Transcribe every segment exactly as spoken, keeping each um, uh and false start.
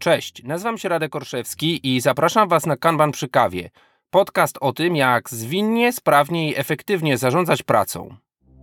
Cześć, nazywam się Radek Orszewski i zapraszam Was na Kanban przy kawie. Podcast o tym, jak zwinnie, sprawnie i efektywnie zarządzać pracą.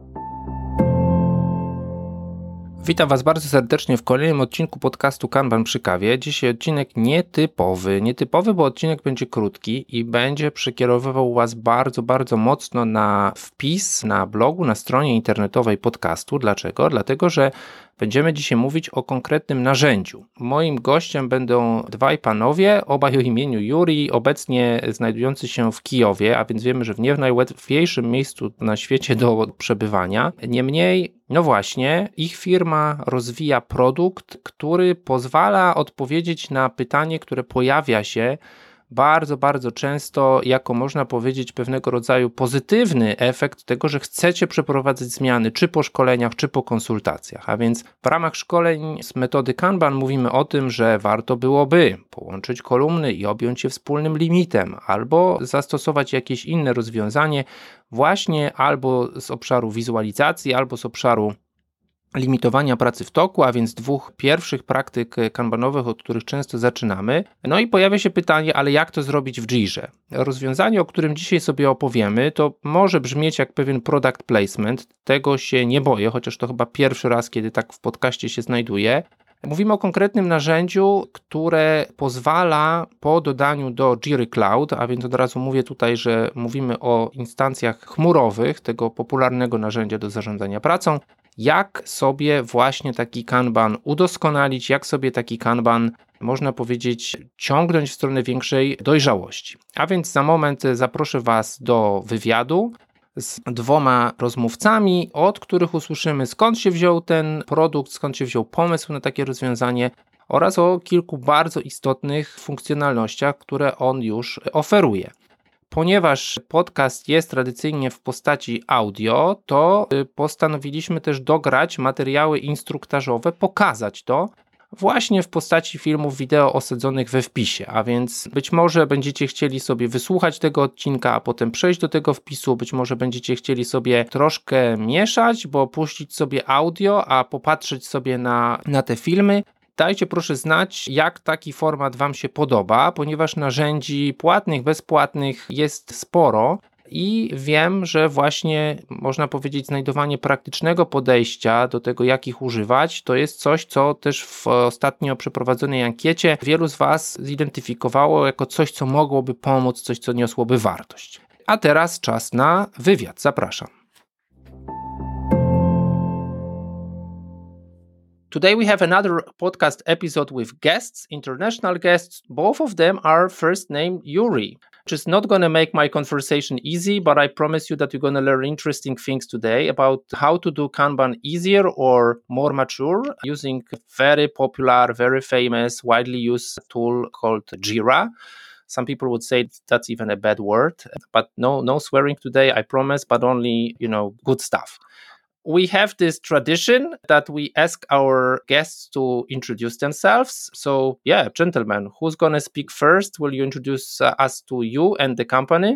Witam Was bardzo serdecznie w kolejnym odcinku podcastu Kanban przy kawie. Dzisiaj odcinek nietypowy. Nietypowy, bo odcinek będzie krótki i będzie przekierowywał Was bardzo, bardzo mocno na wpis na blogu, na stronie internetowej podcastu. Dlaczego? Dlatego, że będziemy dzisiaj mówić o konkretnym narzędziu. Moim gościem będą dwaj panowie, obaj o imieniu Juri, obecnie znajdujący się w Kijowie, a więc wiemy, że w nie w najłatwiejszym miejscu na świecie do przebywania. Niemniej, no właśnie, ich firma rozwija produkt, który pozwala odpowiedzieć na pytanie, które pojawia się bardzo, bardzo często jako, można powiedzieć, pewnego rodzaju pozytywny efekt tego, że chcecie przeprowadzać zmiany, czy po szkoleniach, czy po konsultacjach. A więc w ramach szkoleń z metody Kanban mówimy o tym, że warto byłoby połączyć kolumny i objąć je wspólnym limitem, albo zastosować jakieś inne rozwiązanie właśnie albo z obszaru wizualizacji, albo z obszaru limitowania pracy w toku, a więc dwóch pierwszych praktyk kanbanowych, od których często zaczynamy. No i pojawia się pytanie, ale jak to zrobić w Jirze? Rozwiązanie, o którym dzisiaj sobie opowiemy, to może brzmieć jak pewien product placement, tego się nie boję, chociaż to chyba pierwszy raz, kiedy tak w podcaście się znajduje. Mówimy o konkretnym narzędziu, które pozwala po dodaniu do Jiry Cloud, a więc od razu mówię tutaj, że mówimy o instancjach chmurowych, tego popularnego narzędzia do zarządzania pracą, jak sobie właśnie taki Kanban udoskonalić, jak sobie taki Kanban, można powiedzieć, ciągnąć w stronę większej dojrzałości. A więc za moment zaproszę Was do wywiadu z dwoma rozmówcami, od których usłyszymy, skąd się wziął ten produkt, skąd się wziął pomysł na takie rozwiązanie oraz o kilku bardzo istotnych funkcjonalnościach, które on już oferuje. Ponieważ podcast jest tradycyjnie w postaci audio, to postanowiliśmy też dograć materiały instruktażowe, pokazać to właśnie w postaci filmów wideo osadzonych we wpisie, a więc być może będziecie chcieli sobie wysłuchać tego odcinka, a potem przejść do tego wpisu, być może będziecie chcieli sobie troszkę mieszać, bo puścić sobie audio, a popatrzeć sobie na, na te filmy. Dajcie proszę znać, jak taki format Wam się podoba, ponieważ narzędzi płatnych, bezpłatnych jest sporo i wiem, że właśnie można powiedzieć znajdowanie praktycznego podejścia do tego, jak ich używać, to jest coś, co też w ostatnio przeprowadzonej ankiecie wielu z Was zidentyfikowało jako coś, co mogłoby pomóc, coś, co niosłoby wartość. A teraz czas na wywiad. Zapraszam. Today we have another podcast episode with guests, international guests. Both of them are first name Yuri, which is not going to make my conversation easy, but I promise you that you're going to learn interesting things today about how to do Kanban easier or more mature using a very popular, very famous, widely used tool called Jira. Some people would say that's even a bad word, but no, no swearing today, I promise, but only, you know, good stuff. We have this tradition that we ask our guests to introduce themselves. So, yeah, gentlemen, who's going to speak first? Will you introduce uh, us to you and the company?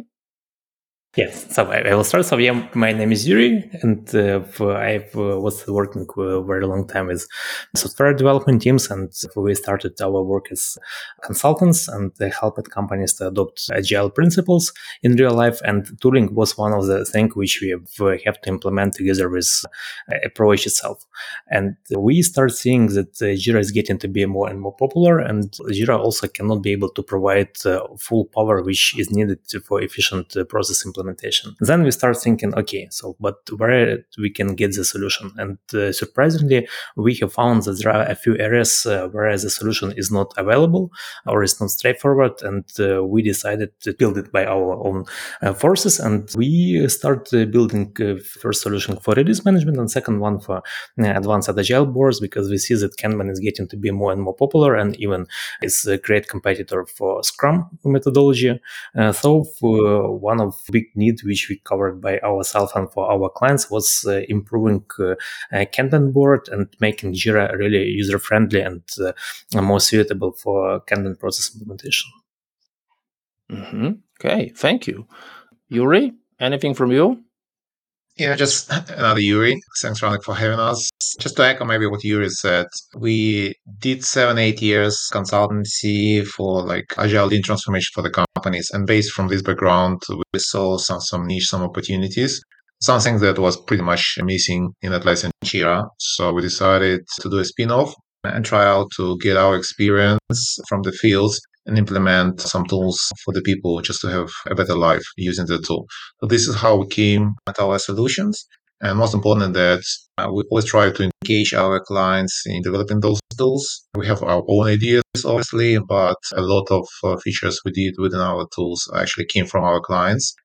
Yes, so I, I will start. So yeah, my name is Yuri, and uh, I uh, was working a very long time with software development teams, and we started our work as consultants and helped companies to adopt agile principles in real life. And tooling was one of the things which we have to implement together with approach itself. And we start seeing that Jira is getting to be more and more popular, and Jira also cannot be able to provide uh, full power which is needed for efficient uh, process implementation. Then we start thinking, okay, so but where we can get the solution? And uh, surprisingly, we have found that there are a few areas uh, where the solution is not available or is not straightforward, and uh, we decided to build it by our own uh, forces. And we start uh, building uh, first solution for release management and second one for uh, advanced agile boards, because we see that Kanban is getting to be more and more popular and even is a great competitor for Scrum methodology. Uh, so for one of big need which we covered by ourselves and for our clients was uh, improving uh, uh, Kanban board and making Jira really user-friendly and uh, more suitable for Kanban process implementation. Mm-hmm. Okay, thank you. Yuri, anything from you? Yeah, just another Yuri. Thanks, Ronak, for having us. Just to echo maybe what Yuri said, we did seven, eight years consultancy for like agile lean transformation for the companies. And based from this background, we saw some, some niche, some opportunities, something that was pretty much missing in Atlassian Jira. So we decided to do a spin-off and try out to get our experience from the fields and implement some tools for the people just to have a better life using the tool. So this is how we came at our solutions. And most important that uh, we always try to engage our clients in developing those tools. We have our own ideas, obviously, but a lot of uh, features we did within our tools actually came from our clients.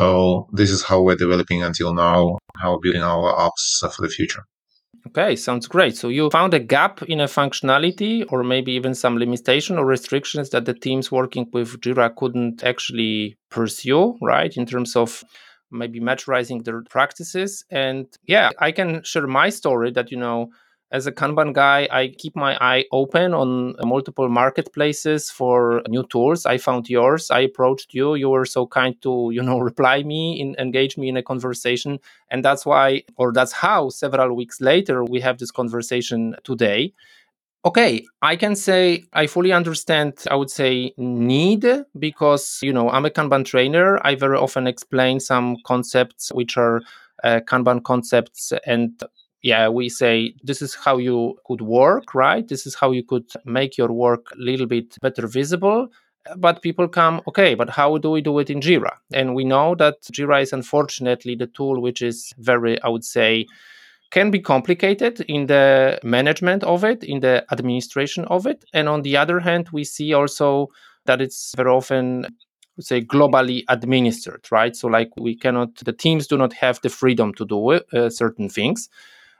So this is how we're developing until now, how we're building our apps for the future. Okay, sounds great. So you found a gap in a functionality or maybe even some limitation or restrictions that the teams working with Jira couldn't actually pursue, right? In terms of maybe maturizing their practices. And yeah, I can share my story that, you know, as a Kanban guy, I keep my eye open on multiple marketplaces for new tools. I found yours. I approached you. You were so kind to, you know, reply me, in, engage me in a conversation. And that's why, or that's how several weeks later, we have this conversation today. Okay, I can say I fully understand, I would say, need, because, you know, I'm a Kanban trainer. I very often explain some concepts which are uh, Kanban concepts. And yeah, we say this is how you could work, right? This is how you could make your work a little bit better visible. But people come, okay, but how do we do it in Jira? And we know that Jira is unfortunately the tool which is very, I would say, can be complicated in the management of it, in the administration of it. And on the other hand, we see also that it's very often, say, globally administered, right? So like we cannot, the teams do not have the freedom to do uh, certain things.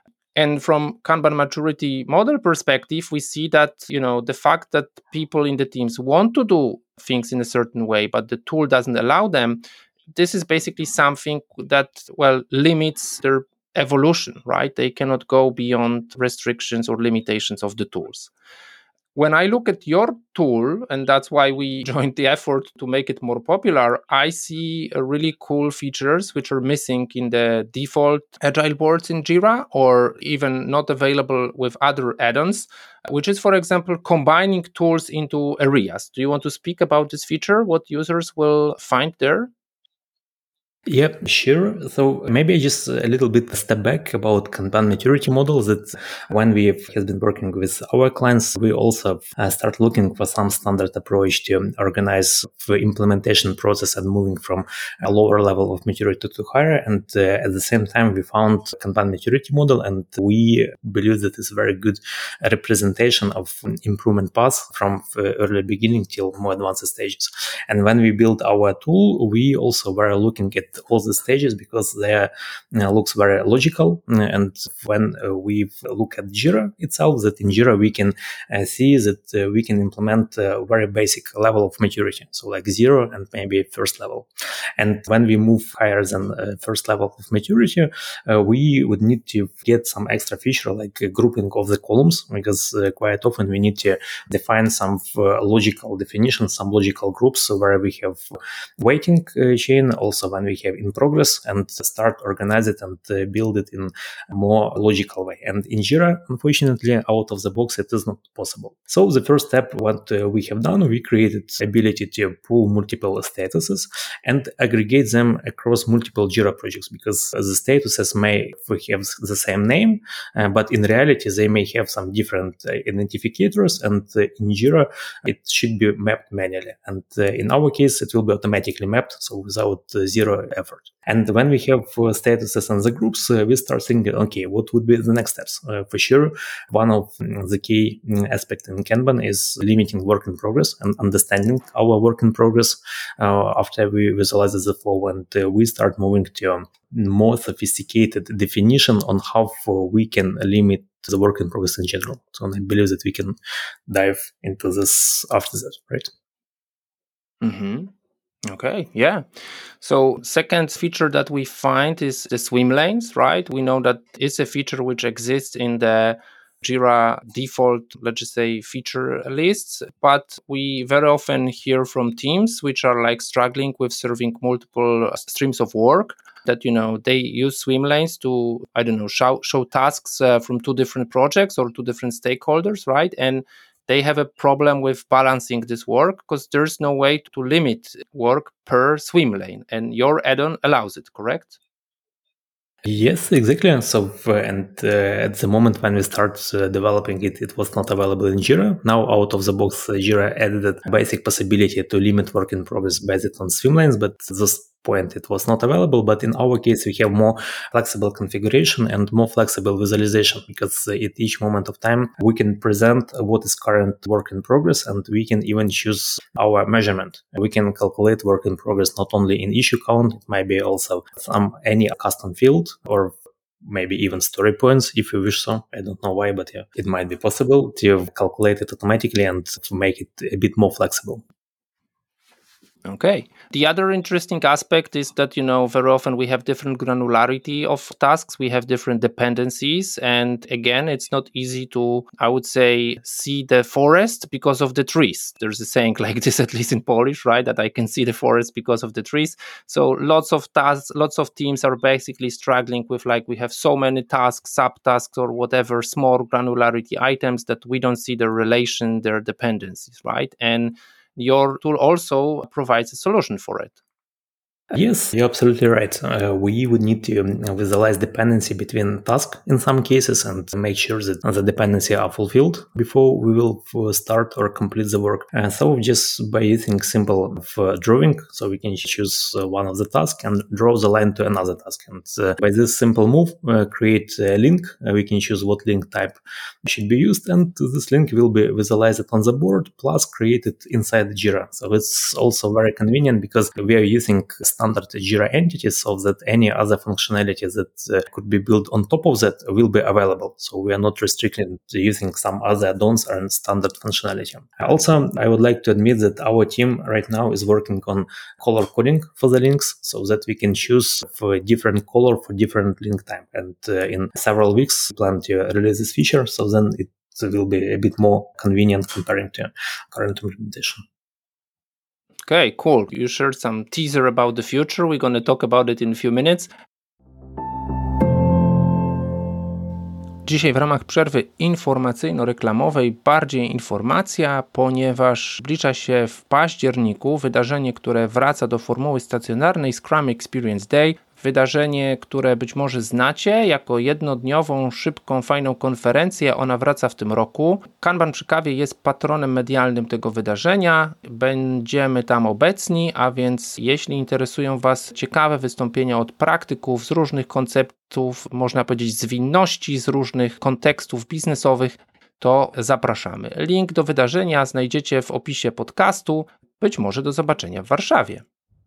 And from Kanban maturity model perspective, we see that, you know, the fact that people in the teams want to do things in a certain way, but the tool doesn't allow them, this is basically something that, well, limits their evolution, right? They cannot go beyond restrictions or limitations of the tools. When I look at your tool, and that's why we joined the effort to make it more popular, I see uh, really cool features which are missing in the default agile boards in Jira, or even not available with other add-ons, which is, for example, combining tools into areas. Do you want to speak about this feature, what users will find there? Yep, sure. So maybe just a little bit step back about Kanban maturity models. That when we have been working with our clients, we also uh, start looking for some standard approach to organize the implementation process and moving from a lower level of maturity to higher. And uh, at the same time, we found Kanban maturity model, and we believe that it's a very good representation of improvement path from early beginning till more advanced stages. And when we built our tool, we also were looking at all the stages because they uh, looks very logical. And when uh, we look at Jira itself, that in Jira we can uh, see that uh, we can implement a very basic level of maturity, so like zero and maybe first level. And when we move higher than uh, first level of maturity, uh, we would need to get some extra feature like a grouping of the columns, because uh, quite often we need to define some uh, logical definitions, some logical groups where we have waiting uh, chain, also when we have in progress, and start organize it and uh, build it in a more logical way. And in Jira, unfortunately, out of the box, it is not possible. So the first step, what uh, we have done, we created ability to pull multiple statuses and aggregate them across multiple Jira projects, because the statuses may have the same name, uh, but in reality, they may have some different uh, identifiers, and uh, in Jira, it should be mapped manually. And uh, in our case, it will be automatically mapped, so without uh, zero effort. And when we have uh, statuses and the groups, uh, we start thinking, okay, what would be the next steps? Uh, for sure, one of the key aspects in Kanban is limiting work in progress and understanding our work in progress uh, after we visualize the flow, and uh, we start moving to a more sophisticated definition on how we can limit the work in progress in general. So I believe that we can dive into this after that, right? Mm-hmm. Okay, yeah. So second feature that we find is the swim lanes, right? We know that it's a feature which exists in the Jira default, let's just say, feature lists. But we very often hear from teams which are like struggling with serving multiple streams of work, that, you know, they use swim lanes to, I don't know, show, show tasks uh, from two different projects or two different stakeholders, right? And they have a problem with balancing this work because there's no way to limit work per swim lane. And your add-on allows it, correct? Yes, exactly. So, uh, and uh, at the moment when we start uh, developing it, it was not available in Jira. Now, out of the box, uh, Jira added a basic possibility to limit work in progress based on swim lanes, but at this point it was not available. But in our case, we have more flexible configuration and more flexible visualization, because uh, at each moment of time, we can present what is current work in progress, and we can even choose our measurement. We can calculate work in progress not only in issue count, it might be also some any custom field, or maybe even story points if you wish so. I don't know why, but yeah, it might be possible to calculate it automatically and to make it a bit more flexible. Okay. The other interesting aspect is that, you know, very often we have different granularity of tasks. We have different dependencies. And again, it's not easy to, I would say, see the forest because of the trees. There's a saying like this, at least in Polish, right? That I can see the forest because of the trees. So lots of tasks, lots of teams are basically struggling with, like, we have so many tasks, subtasks, or whatever, small granularity items that we don't see the relation, their dependencies, right? And your tool also provides a solution for it. Yes, you're absolutely right. Uh, we would need to um, visualize dependency between tasks in some cases and make sure that the dependency are fulfilled before we will start or complete the work. And so just by using simple uh, drawing, so we can choose uh, one of the tasks and draw the line to another task. And uh, by this simple move, uh, create a link. Uh, we can choose what link type should be used, and this link will be visualized on the board plus created inside Jira. So it's also very convenient because we are using standard Jira entities, so that any other functionality that uh, could be built on top of that will be available. So we are not restricted to using some other add-ons and standard functionality. Also, I would like to admit that our team right now is working on color coding for the links, so that we can choose for a different color for different link type. And uh, in several weeks, we plan to release this feature, so then it will be a bit more convenient comparing to current implementation. Okay, cool. You shared some teaser about the future. We're going to talk about it in a few minutes. Dzisiaj w ramach przerwy informacyjno-reklamowej bardziej informacja, ponieważ zbliża się w październiku wydarzenie, które wraca do formuły stacjonarnej, Scrum Experience Day. Wydarzenie, które być może znacie jako jednodniową, szybką, fajną konferencję. Ona wraca w tym roku. Kanban przy kawie jest patronem medialnym tego wydarzenia. Będziemy tam obecni, a więc jeśli interesują Was ciekawe wystąpienia od praktyków z różnych konceptów, można powiedzieć zwinności, z różnych kontekstów biznesowych, to zapraszamy. Link do wydarzenia znajdziecie w opisie podcastu. Być może do zobaczenia w Warszawie.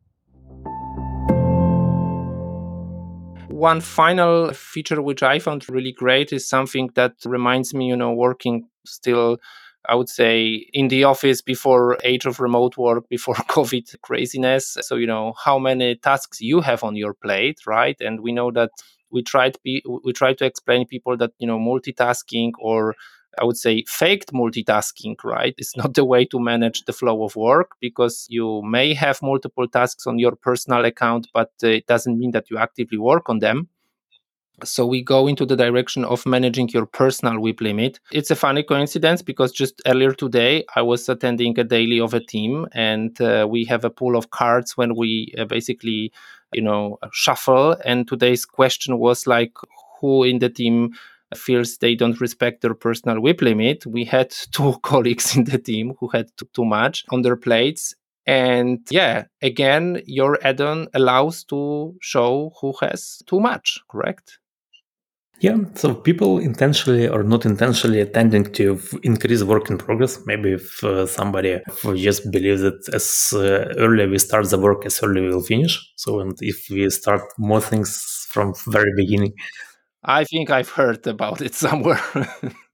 One final feature which I found really great is something that reminds me, you know, working still, I would say, in the office before age of remote work, before COVID craziness. So, you know, how many tasks you have on your plate, right? And we know that we try to be, we try to explain people that, you know, multitasking, or I would say faked multitasking, right, is not the way to manage the flow of work, because you may have multiple tasks on your personal account, but uh, it doesn't mean that you actively work on them. So we go into the direction of managing your personal W I P limit. It's a funny coincidence because just earlier today, I was attending a daily of a team, and uh, we have a pool of cards when we uh, basically, you know, shuffle. And today's question was like, who in the team feels they don't respect their personal W I P limit. We had two colleagues in the team who had too, too much on their plates. And yeah, again, your add-on allows to show who has too much, correct? Yeah, so people intentionally or not intentionally tending to increase work in progress. Maybe if uh, somebody just believes that as uh, early we start the work, as early we will finish. So and if we start more things from very beginning. I think I've heard about it somewhere.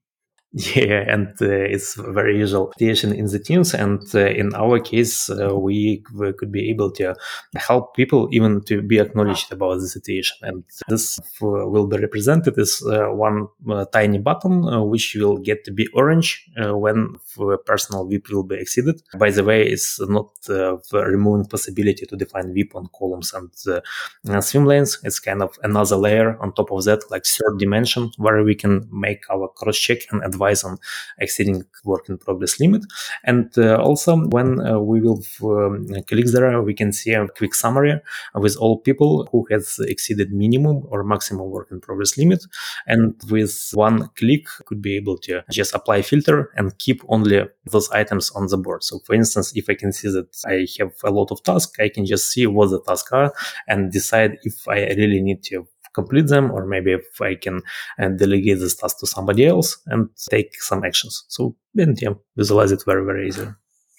Yeah, and uh, it's very usual situation in the teams. And uh, in our case, uh, we, we could be able to help people even to be acknowledged about the situation. And this uh, will be represented as uh, one uh, tiny button, uh, which will get to be orange uh, when a personal V I P will be exceeded. By the way, it's not uh, removing possibility to define V I P on columns and uh, swim lanes. It's kind of another layer on top of that, like third dimension, where we can make our cross-check and advise on exceeding work in progress limit. And uh, also when uh, we will um, click there, we can see a quick summary with all people who has exceeded minimum or maximum work in progress limit. And with one click, could be able to just apply filter and keep only those items on the board. So for instance, if I can see that I have a lot of tasks, I can just see what the tasks are and decide if I really need to complete them, or maybe if I can uh, delegate this task to somebody else and take some actions. So and yeah, visualize it very, very easily.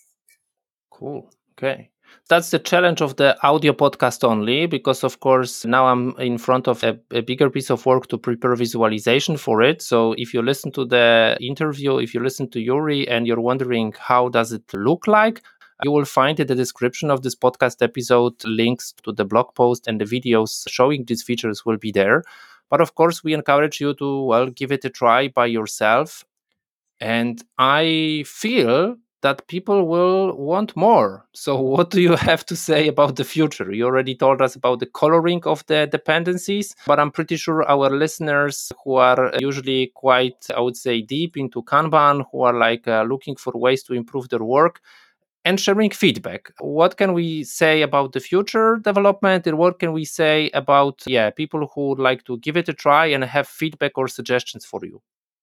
Cool. Okay. That's the challenge of the audio podcast only, because of course now I'm in front of a, a bigger piece of work to prepare visualization for it. So if you listen to the interview, if you listen to Yuri and you're wondering how does it look like, you will find in the description of this podcast episode links to the blog post, and the videos showing these features will be there. But of course, we encourage you to, well, give it a try by yourself. And I feel that people will want more. So what do you have to say about the future? You already told us about the coloring of the dependencies, but I'm pretty sure our listeners who are usually quite, I would say, deep into Kanban, who are like uh, looking for ways to improve their work, and sharing feedback. What can we say about the future development, and what can we say about yeah people who would like to give it a try and have feedback or suggestions for you?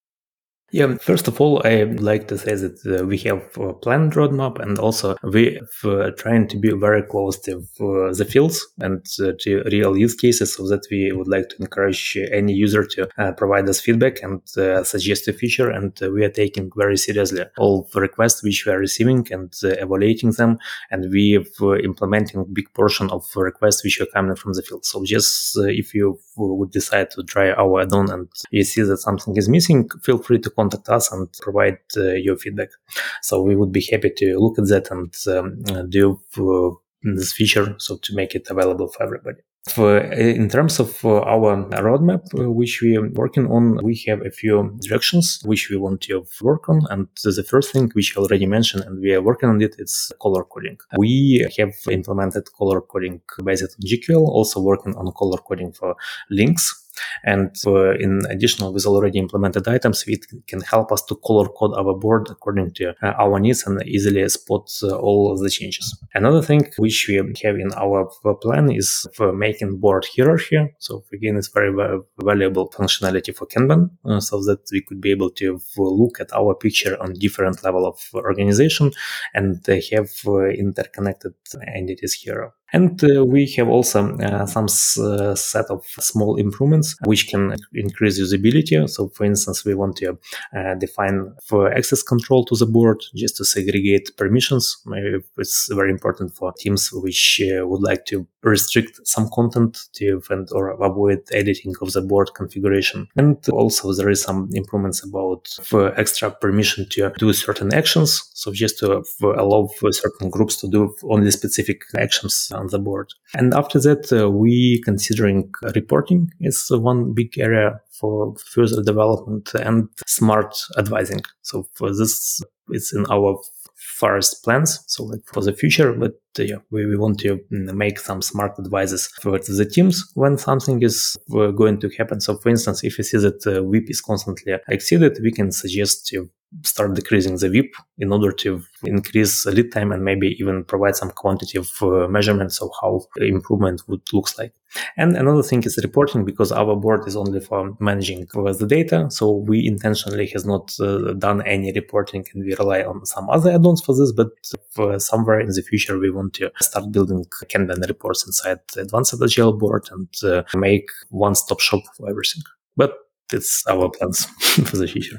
Yeah, first of all, I'd like to say that uh, we have a planned roadmap, and also we are uh, trying to be very close to uh, the fields and uh, to real use cases, so that we would like to encourage any user to uh, provide us feedback and uh, suggest a feature. And uh, we are taking very seriously all the requests which we are receiving and uh, evaluating them. And we are uh, implementing a big portion of requests which are coming from the field. So just uh, if you would decide to try our add-on and you see that something is missing, feel free to contact us and provide uh, your feedback. So we would be happy to look at that and um, do uh, this feature so to make it available for everybody. For, in terms of uh, our roadmap, uh, which we are working on, we have a few directions which we want to work on. And the first thing, which I already mentioned, and we are working on it, is color coding. We have implemented color coding based on G Q L, also working on color coding for links. And uh, in addition, with already implemented items, it can help us to color code our board according to uh, our needs and easily spot uh, all of the changes. Another thing which we have in our plan is for making board hierarchy. So again, it's very uh, valuable functionality for Kanban, uh, so that we could be able to look at our picture on different level of organization and uh, have uh, interconnected entities here. And uh, we have also uh, some uh, set of small improvements which can increase usability. So for instance, we want to uh, define for access control to the board just to segregate permissions. Maybe it's very important for teams which uh, would like to restrict some content to and or avoid editing of the board configuration. And also there is some improvements about for extra permission to do certain actions. So just to allow for certain groups to do only specific actions on the board. And after that, uh, we considering reporting is one big area for further development and smart advising. So for this, it's in our first plans, so like for the future, but uh, yeah, we, we want to make some smart advices for the teams when something is uh, going to happen. So for instance, if you see that uh, V I P is constantly exceeded, we can suggest to start decreasing the V I P in order to increase lead time and maybe even provide some quantitative uh, measurements of how improvement would looks like. And another thing is reporting, because our board is only for managing the data. So we intentionally has not uh, done any reporting, and we rely on some other add-ons for this. But for somewhere in the future, we want to start building Kanban reports inside Advanced Agile board and uh, make one-stop shop for everything. But it's our plans for the future.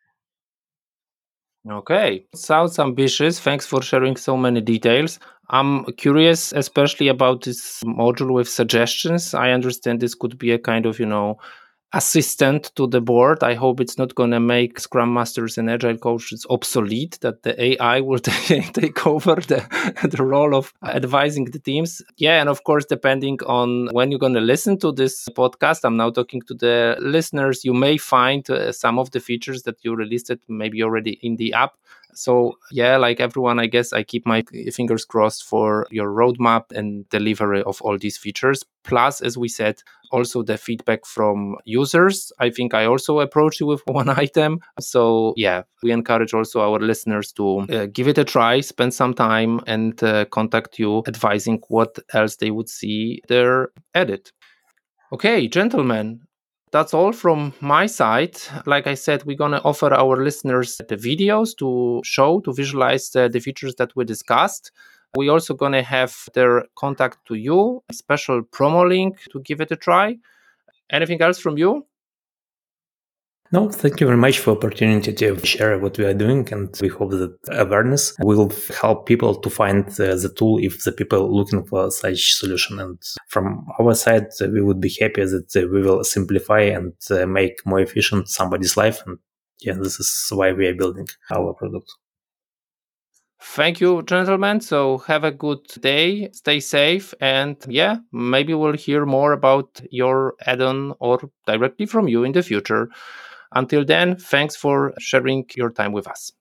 Okay, sounds ambitious. Thanks for sharing so many details. I'm curious, especially about this module with suggestions. I understand this could be a kind of, you know, assistant to the board. I hope it's not going to make Scrum Masters and Agile coaches obsolete, that the A I will t- take over the, the role of advising the teams. Yeah, and of course, depending on when you're going to listen to this podcast, I'm now talking to the listeners, you may find uh, some of the features that you released it maybe already in the app. So yeah, like everyone, I guess I keep my fingers crossed for your roadmap and delivery of all these features. Plus, as we said, also the feedback from users. I think I also approached you with one item. So yeah, we encourage also our listeners to uh, give it a try, spend some time and uh, contact you advising what else they would see their edit. Okay, gentlemen. That's all from my side. Like I said, we're going to offer our listeners the videos to show, to visualize the, the features that we discussed. We're also going to have their contact to you, a special promo link to give it a try. Anything else from you? No, thank you very much for the opportunity to share what we are doing, and we hope that awareness will help people to find uh, the tool if the people looking for such solution. And from our side, uh, we would be happy that uh, we will simplify and uh, make more efficient somebody's life. And yeah, this is why we are building our product. Thank you, gentlemen. So have a good day, stay safe, and yeah, maybe we'll hear more about your add-on or directly from you in the future. Until then, thanks for sharing your time with us.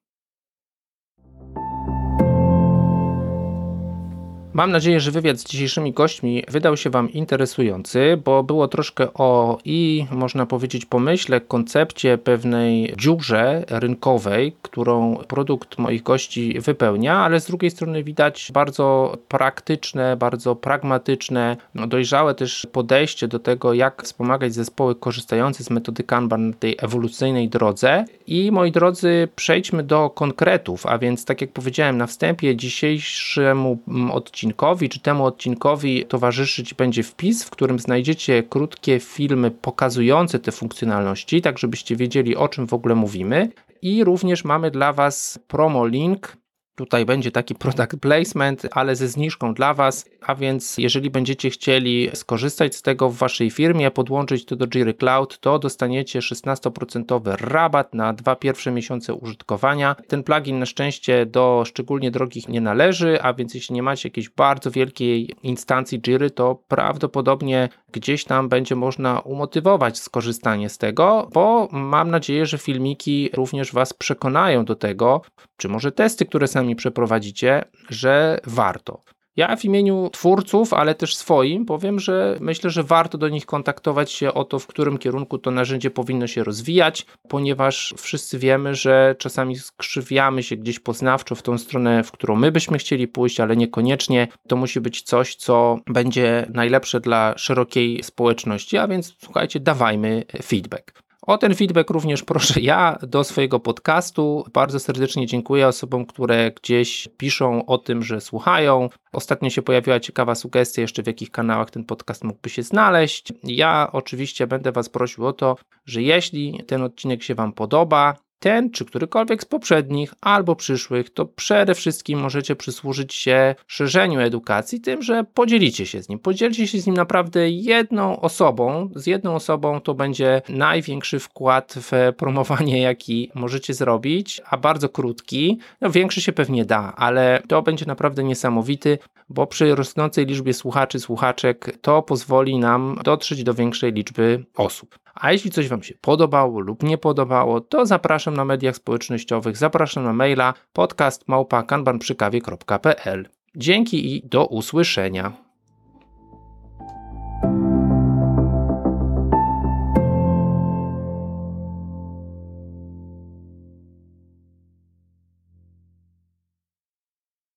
Mam nadzieję, że wywiad z dzisiejszymi gośćmi wydał się Wam interesujący, bo było troszkę o i można powiedzieć pomyśle, koncepcie pewnej dziurze rynkowej, którą produkt moich gości wypełnia, ale z drugiej strony widać bardzo praktyczne, bardzo pragmatyczne, no dojrzałe też podejście do tego, jak wspomagać zespoły korzystające z metody Kanban na tej ewolucyjnej drodze. I moi drodzy, przejdźmy do konkretów, a więc tak jak powiedziałem na wstępie, dzisiejszemu odcinkowi czy temu odcinkowi towarzyszyć będzie wpis, w którym znajdziecie krótkie filmy pokazujące te funkcjonalności, tak żebyście wiedzieli, o czym w ogóle mówimy. I również mamy dla Was promo link. Tutaj będzie taki product placement, ale ze zniżką dla Was, a więc jeżeli będziecie chcieli skorzystać z tego w Waszej firmie, podłączyć to do Jira Cloud, to dostaniecie szesnaście procent rabat na dwa pierwsze miesiące użytkowania. Ten plugin na szczęście do szczególnie drogich nie należy, a więc jeśli nie macie jakiejś bardzo wielkiej instancji Jiry, to prawdopodobnie gdzieś tam będzie można umotywować skorzystanie z tego, bo mam nadzieję, że filmiki również Was przekonają do tego, czy może testy, które sami przeprowadzicie, że warto. Ja w imieniu twórców, ale też swoim powiem, że myślę, że warto do nich kontaktować się o to, w którym kierunku to narzędzie powinno się rozwijać, ponieważ wszyscy wiemy, że czasami skrzywiamy się gdzieś poznawczo w tą stronę, w którą my byśmy chcieli pójść, ale niekoniecznie to musi być coś, co będzie najlepsze dla szerokiej społeczności, a więc słuchajcie, dawajmy feedback. O ten feedback również proszę ja do swojego podcastu. Bardzo serdecznie dziękuję osobom, które gdzieś piszą o tym, że słuchają. Ostatnio się pojawiła ciekawa sugestia jeszcze, w jakich kanałach ten podcast mógłby się znaleźć. Ja oczywiście będę Was prosił o to, że jeśli ten odcinek się Wam podoba, ten czy którykolwiek z poprzednich albo przyszłych, to przede wszystkim możecie przysłużyć się szerzeniu edukacji tym, że podzielicie się z nim. Podzielcie się z nim naprawdę jedną osobą. Z jedną osobą to będzie największy wkład w promowanie, jaki możecie zrobić, a bardzo krótki. No większy się pewnie da, ale to będzie naprawdę niesamowity, bo przy rosnącej liczbie słuchaczy, słuchaczek to pozwoli nam dotrzeć do większej liczby osób. A jeśli coś Wam się podobało lub nie podobało, to zapraszam na mediach społecznościowych, zapraszam na maila podcast małpa kanban przy kawie kropka p l. Dzięki i do usłyszenia.